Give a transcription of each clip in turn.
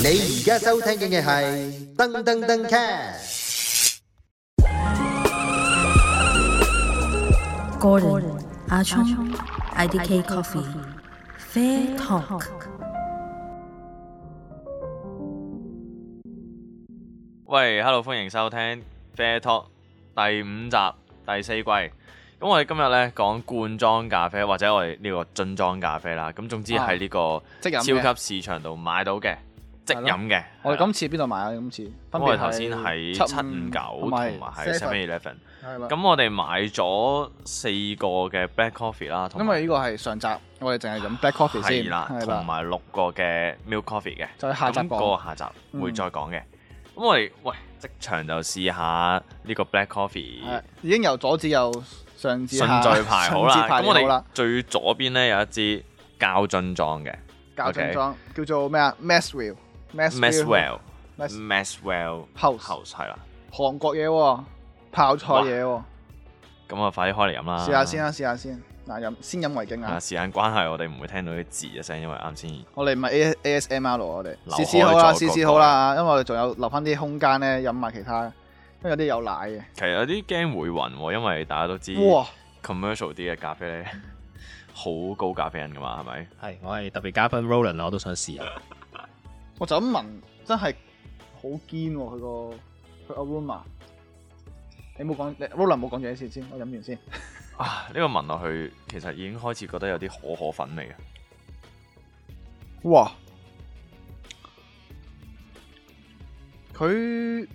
你而家收聽嘅係噔噔噔 cast。 Gordon 阿聰 IDK Coffee Fair Talk。 喂，Hello， 歡迎收聽 Fair Talk 第5集第4季。咁我哋今日咧講罐裝咖啡或者我哋呢個樽裝咖啡啦。咁總之喺呢個超級市場度買到嘅即飲嘅。 我哋今次邊度買啊？今次分別係我哋頭先喺759同埋喺 7-Eleven。 係啦。 咁我哋買咗4個嘅 Black Coffee 啦， 因為呢個係上集，我哋淨係飲 Black Coffee 先。 係啦，同埋6個嘅 Milk Coffee 嘅。 就係下集講。 嗰個下集會再講嘅。咁我哋即場就試下呢個 Black Coffee。 已經由左至右上至下順序排好啦。咁我哋啦。 最左邊咧有一支膠樽裝嘅。 膠樽裝叫做咩啊 ？Maxwell House 係啦。 韓國嘢喎，泡菜嘢喎。 咁啊，快啲開嚟飲啦！ 試下先。嗱，先飲為敬啊！ 時間關係，我哋唔會聽到啲字嘅聲，因為啱先。 我哋唔係 ASMR 我哋試好啦，因為我哋仲有留翻啲空間咧飲埋其他，因為有啲有奶嘅。 其實有啲驚會暈喎，因為大家都知 commercial 啲嘅咖啡咧好高咖啡因噶嘛，係咪？ 係，我係特別嘉賓 Roland， 我都想試下。 我就咁聞，真係好堅喎！佢 aroma。你冇講 ，Roland 冇講住啲先，我飲完先。 啊！呢個聞落去其實已經開始覺得有啲可粉味嘅。 哇！佢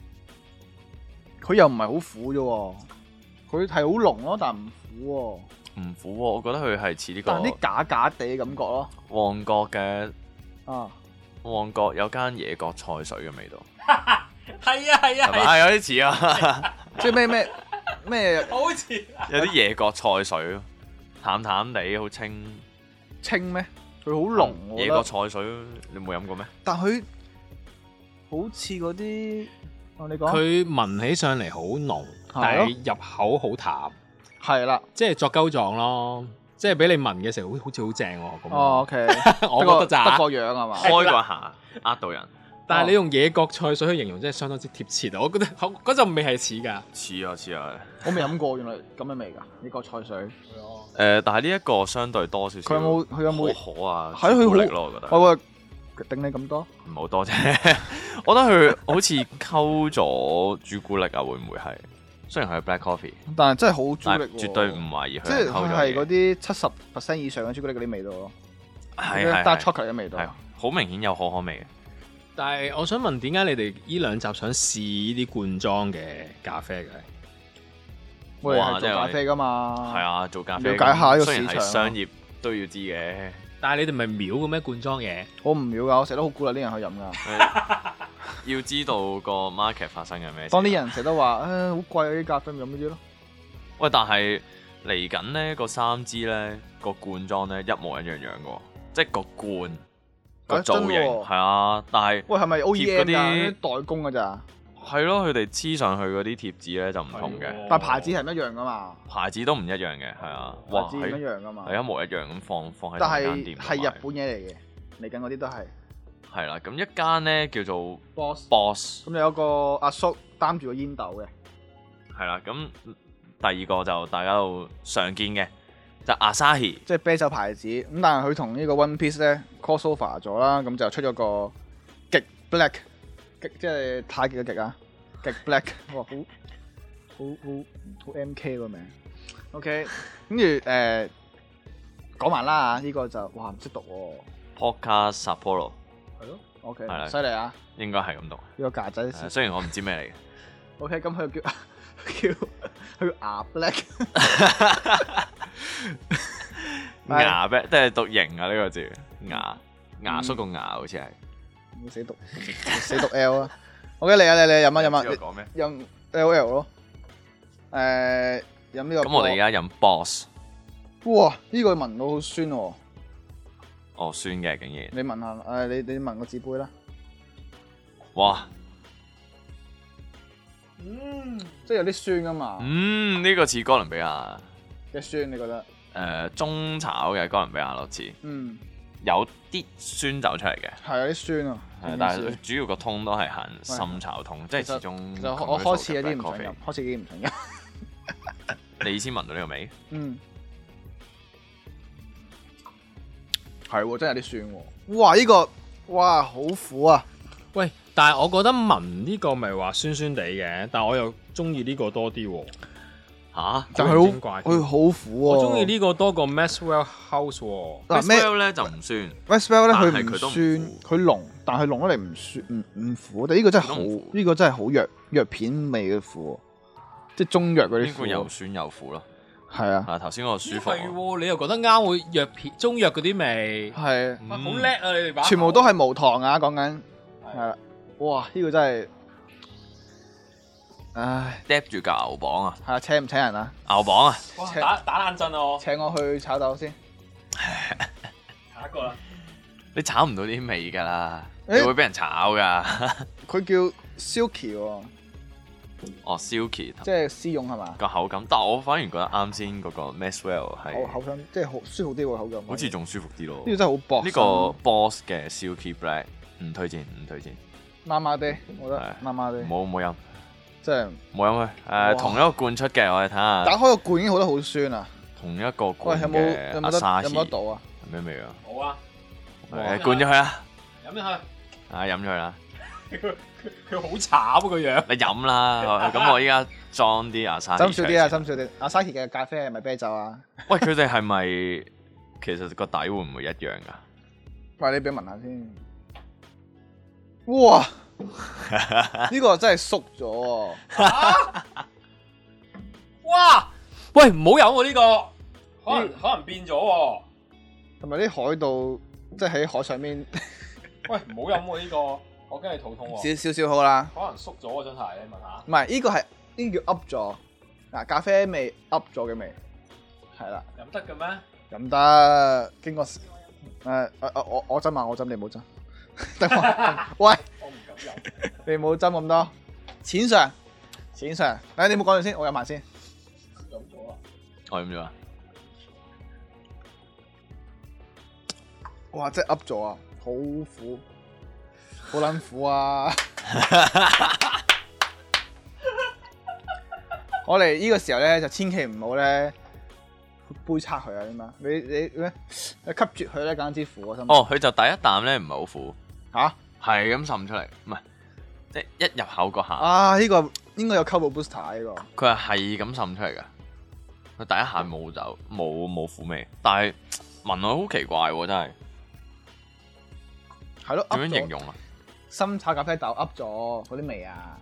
又唔係好苦啫喎，佢係好濃咯，但唔苦喎。 唔苦喎，我覺得佢係似呢個。 但啲假假地嘅感覺咯。 旺角嘅啊！ 旺角有間野角菜水嘅味道。 係啊， 係有啲似啊！ 即係咩？ 好似有啲野角菜水，淡淡地，好清咩？佢好濃喎。 野角菜水你冇飲過咩？ 但佢好似嗰啲，你講佢聞起上嚟好濃，但係入口好淡。 係啦， 即係作鳩狀咯，即係俾你聞嘅時候好似好正喎。咁 OK， 我覺得咋？ 得個樣係嘛？ 開個下呃到人。 但係你用野角菜水去形容，真係相當之貼切啊！我覺得嗰陣味係似㗎。 似啊！ 我未飲過，原來咁嘅味㗎，野角菜水。 但係呢一個相對多少少。 佢有冇可啊？ 係佢好力咯，我覺得。 我話頂你咁多？ 唔好多啫，我覺得佢好似溝咗朱古力啊，會唔會係？雖然佢係 Black Coffee， 但係真係好朱古力喎。 絕對唔懷疑佢即係佢係嗰啲70% 以上嘅朱古力嗰啲味道咯。 係 dark chocolate 嘅味道。 係好明顯有可可味嘅。 但係我想問，點解你哋呢2集想試呢啲罐裝嘅咖啡嘅？ 我哋係做咖啡㗎嘛。 係啊，做咖啡。 了解下呢個市場。 雖然係商業都要知嘅。 但係你哋咪秒嘅咩罐裝嘢？ 我唔秒㗎，我成日都好鼓勵啲人去飲㗎。 要知道個 market 發生緊咩事。 當啲人成日都話，好貴啊啲咖啡，咪飲呢啲咯。 喂，但係嚟緊咧個3支咧個罐裝咧一模一樣樣嘅，即係個罐個造型係啊，但係喂係咪 OEM 嗰啲代工㗎咋？ 係咯，佢哋黐上去嗰啲貼紙咧就唔同嘅， 但牌子係唔一樣㗎嘛？ 牌子都唔一樣嘅，係啊，哇， 牌子唔一樣㗎嘛？ 係一模一樣咁放喺但間店。 係日本嘢嚟嘅，嚟緊嗰啲都係。 係啦，咁一間咧叫做 Boss， 咁有個阿叔擔住個煙斗嘅。 係啦，咁第2個就大家都常見嘅，就 Asahi， 即係啤酒牌子。咁但係佢同呢個 One Piece 咧 crossover 咗啦，咁就出咗個極 Black， 即係太極嘅極啊，極 Black， 哇，好 MK 個名。OK， 跟住講埋啦，呢個就哇唔識讀喎。 Pocca Sapporo。 係咯 ，OK， 係啦， 犀利啊！ 應該係咁讀。 呢個架仔， 雖然我唔知咩嚟嘅。 OK， 咁佢叫牙 Black， 牙 Black， 即係讀型啊呢個字，牙叔個牙好似係。 唔死讀 L 啊！OK，嚟啊，你飲啊！ 講咩？ 飲 LL 咯。飲呢個。 咁我哋而家飲 Boss。 哇！呢個聞到好酸喎。 哦，酸嘅竟然。 你聞下，你聞個紙杯啦。 哇！ 即係有啲酸噶嘛。 呢個似哥倫比亞嘅酸，你覺得？ 中炒嘅哥倫比亞咯似。 有啲酸走出嚟嘅， 係有啲酸啊。 係但係主要個通都係行深炒通，即係始終就我開始有啲唔想飲，開始已經唔想飲。 你先聞到呢個味？ 嗯，係喎，真係有啲酸喎。哇！呢個哇好苦啊！ 喂，但係我覺得聞呢個咪話酸酸地嘅，但係我又中意呢個多啲喎。 嚇！ 就係佢好苦喎。 我中意呢個多過 Maxwell House 喎。 嗱 Maxwell 咧就唔酸 ，Maxwell 咧佢唔佢都唔酸，佢濃，但係濃得嚟唔酸唔苦。但係呢個真係好，呢個真係好藥片味嘅苦，即係中藥嗰啲苦。 呢個又酸又苦咯。 係啊。 啊頭先嗰個舒服。 係喎，你又覺得啱會藥片中藥嗰啲味。 係。 好叻啊！你哋把全部都係無糖啊！講緊係啦。哇！呢個真係，唉， 嗒住嚿牛磅啊！ 係啊，請唔請人啊？ 牛磅啊！ 哇！打冷震啊！我請我去炒豆先。 下一個啦。 你炒唔到啲味㗎啦， 欸你會俾人炒㗎。 佢叫 Silky 喎， 哦 Silky， 即係絲絨係嘛？ 個口感，但我反而覺得啱先嗰個 Maxwell 係口感即係好舒服啲喎口感。 好似仲舒服啲咯。 呢個真係好薄。 呢個 Boss 嘅 Silky Black 唔推薦，唔推薦。 麻麻地，我覺得麻麻地。 冇飲， 即係冇飲佢。同一個罐出嘅，我哋睇下。 打開個罐已經好得好酸啊！ 同一個喂， 罐有嘅阿沙士， 冇得倒啊？ 係咩味啊？ 好啊， 誒灌咗佢啊！ 飲咗佢。 啊飲咗佢啦！ 佢好慘啊個樣。 你飲啦，咁我依家裝啲阿沙士。 斟少啲啊，斟少啲。阿沙士嘅咖啡係咪啤酒啊？ 喂，佢哋係咪其實個底會唔會一樣㗎？ 喂，你俾我聞下先。哇！呢個真係縮咗喎！ 哇！喂，唔好飲喎呢個，可能變咗喎。 同埋啲海盜即係喺海上面。 喂，唔好飲喎呢個，我驚你肚痛喎。 少少好啦。 可能縮咗喎真係，你問下。 唔係，呢個係呢個叫 up 咗。嗱，咖啡味 up 咗嘅味，係啦。 飲得嘅咩？ 飲得，經過我斟啊，我斟你唔好斟。得喂， 我唔敢飲。 你唔好斟咁多。淺嘗，淺嘗。誒，你唔好講住先，我飲埋先。 飲咗啊！ 我飲咗啊！ 哇！真係 up 咗啊，好苦，好撚苦啊！我哋呢個時候咧就千祈唔好咧杯測佢啊！點啊？你咩？吸絕佢咧，簡直苦啊！ 哦，佢就第一啖咧唔係好苦， 嚇， 係咁滲出嚟，唔係即係一入口嗰下。 啊！呢個應該有 Turbo Booster 呢個。 佢係咁滲出嚟㗎，佢第一下冇酒冇苦味，但係聞落好奇怪喎，真係。 係咯， 點樣形容啊？ 深炒咖啡豆 up 咗嗰啲味啊！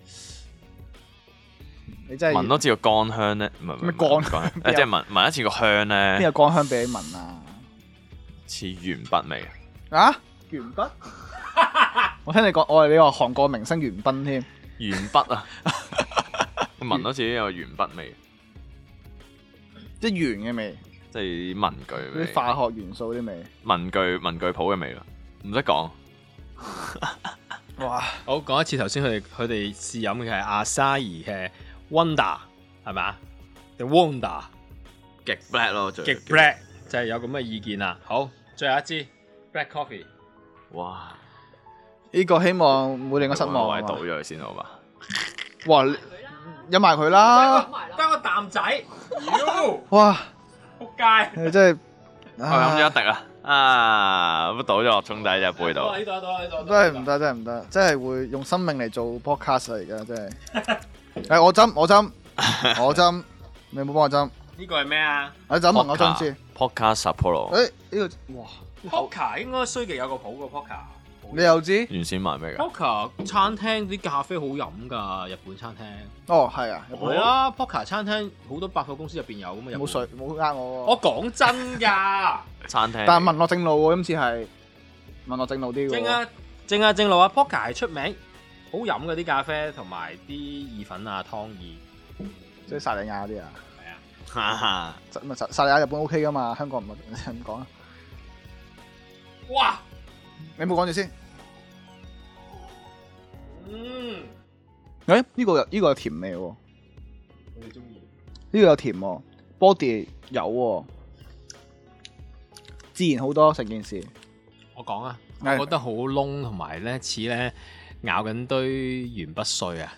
你真係聞多次個乾香咧，唔係咩乾香即係聞一次個香邊咧， 有乾香俾你聞啊？ 似鉛筆味。 啊？鉛筆？我聽你講，我係你話韓國明星袁彬添。 鉛筆啊！聞多次有鉛筆味， 即係鉛嘅味， 即係啲文具味， 啲化學元素啲味。 文具鋪嘅味咯，唔識講。 哇！ 好，講一次頭先佢哋試飲嘅係阿沙怡嘅 Wonder 係咪啊？定 Wonder 極 black 咯， 極 black 就係有咁嘅意見啦。好，最後一支 Black Coffee。 哇！ 呢個希望唔會令我失望啊！ 位倒咗佢先好嘛？ 哇！飲埋佢啦！ 得個啖仔，妖！ 哇！ 仆街！ 你真係我飲咗一滴啊！啊，咁倒咗落沖底隻杯度。 呢度呢度真係唔得，真係唔得，真係會用生命嚟做 podcast 啊！而家真係。誒，我斟，你冇幫我斟。 呢個係咩啊我斟問我斟先。 Podcast Sapporo 誒，呢個哇！ ？Poker 應該衰極有個譜個 Poker。 你又知？ 原先賣咩㗎？ Poker 餐廳啲咖啡好飲㗎，日本餐廳。 哦，係啊， 係啊，Poker 餐廳好多百貨公司入邊有㗎嘛。 冇水，冇呃我喎。 我講真㗎。 餐廳。 但係文樂正路喎，今次係文樂正路啲喎。 正路啊 Poker 係出名，好飲嗰啲咖啡同埋啲意粉啊湯意。 即係薩莉亞嗰啲啊。 係啊。 哈哈。 薩莉亞日本 OK 㗎嘛，香港唔係咁講啊。 哇！ 你冇講住先。 嗯。 誒，呢個有甜味喎。 我哋中意。 呢個有甜喎，body 有喎。 自然好多成件事。 我講啊， 係我覺得好燶，同埋咧似咧咬緊堆鉛筆碎啊！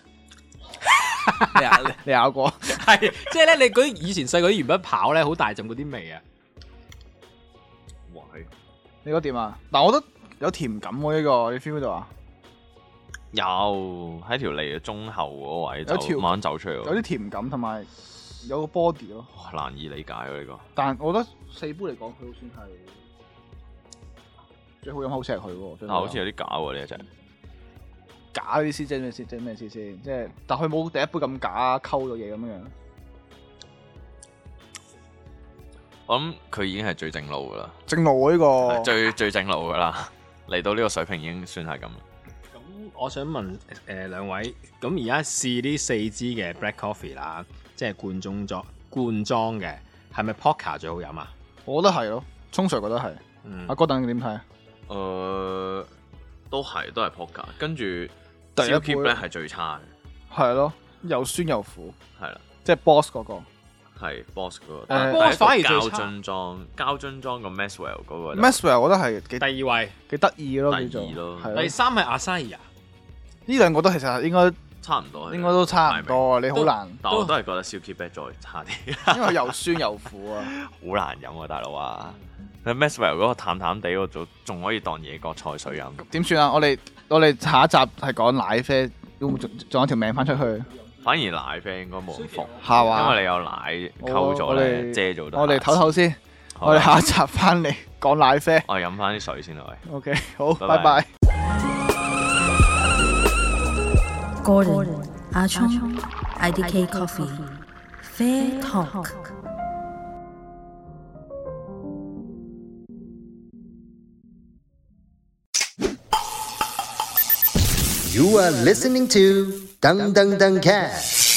你咬過？ 係，即係咧你嗰啲以前細個啲鉛筆刨咧，好大陣嗰啲味啊！ 哇， 你覺得點啊？但我覺得有甜感喎呢個，你 feel 到啊？ 有喺條脷嘅中後嗰位有條就慢慢走出嚟喎， 有啲甜感同埋有個 body 咯。 哇難以理解喎呢個。 但我覺得4杯嚟講，佢好算係最好飲，好似係佢喎。 但好似有啲假喎呢一隻。 假啲意思即係咩先？即係咩意思先？即係，但佢冇第一杯咁假，溝咗嘢咁樣。 我諗佢已經係最正路噶啦， 正路喎呢個。 最正路噶啦，嚟到呢個水平已經算係咁。 咁我想問兩位，咁而家試呢4支嘅 black coffee 啦，即係罐裝嘅，係咪 Pocca 最好飲啊？ 我覺得係咯，聰 Sir 覺得係。阿哥等你點睇？ 都係 Pocca， 跟住第一 Silky 杯 Black 係最差嘅， 係咯，又酸又苦， 係啦， 即係 Boss 嗰個。 係 Boss 嗰個， 誒 Boss 反而最膠差樽裝個 Maxwell 嗰個就 Maxwell 我覺得係幾第二位， 幾得意咯， 第叫做二咯係咯第三係 Asahi 啊， 呢兩個都其實應該差唔多， 都差唔多啊！你好難， 但我都係覺得 Silky Black 再差啲， 因為又酸又苦啊！ 好難飲啊，大佬啊！Maxwell 嗰個淡淡地，我仲可以當野國菜水飲。 點算啊？我哋下一集係講奶啡，會唔會仲有條命翻出去？ 反而奶啡應該冇咁服， 係嘛？ 因為你有奶溝咗咧，遮咗得。 我哋唞唞先，我哋下一集翻嚟講奶啡。 我哋飲翻啲水先啦，喂。 OK，好， 拜拜拜。 Gordon 阿聰 IDK Coffee Fair Talk。 You are listening to Dung Dung Dung Cat.